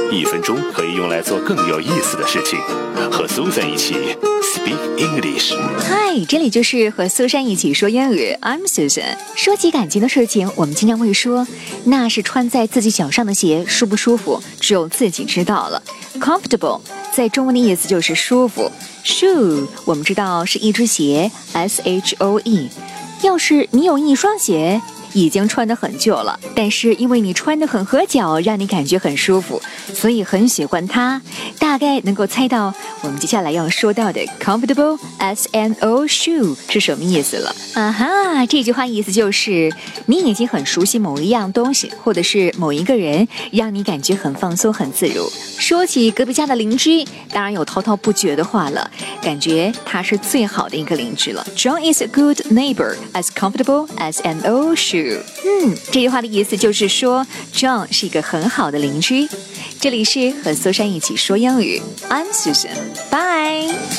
1分钟可以用来做更有意思的事情。和 Susan 一起 Speak English。 嗨，这里就是和苏珊一起说英语 I'm Susan。 说起感情的事情，我们经常会说，那是穿在自己脚上的鞋舒不舒服，只有自己知道了。 Comfortable 在中文的意思就是舒服。 Shoe 我们知道是一只鞋 SHOE。 要是你有一双鞋已经穿得很旧了，但是因为你穿得很合脚，让你感觉很舒服，所以很喜欢它。大概能够猜到我们接下来要说到的 comfortable SNO shoe 是什么意思了。这句话意思就是你已经很熟悉某一样东西，或者是某一个人，让你感觉很放松很自如。说起隔壁家的邻居，当然有滔滔不绝的话了，感觉他是最好的一个邻居了。 John is a good neighbor, as comfortable as an old shoe。 这句话的意思就是说 John 是一个很好的邻居。这里是和苏珊一起说英语 I'm Susan， Bye。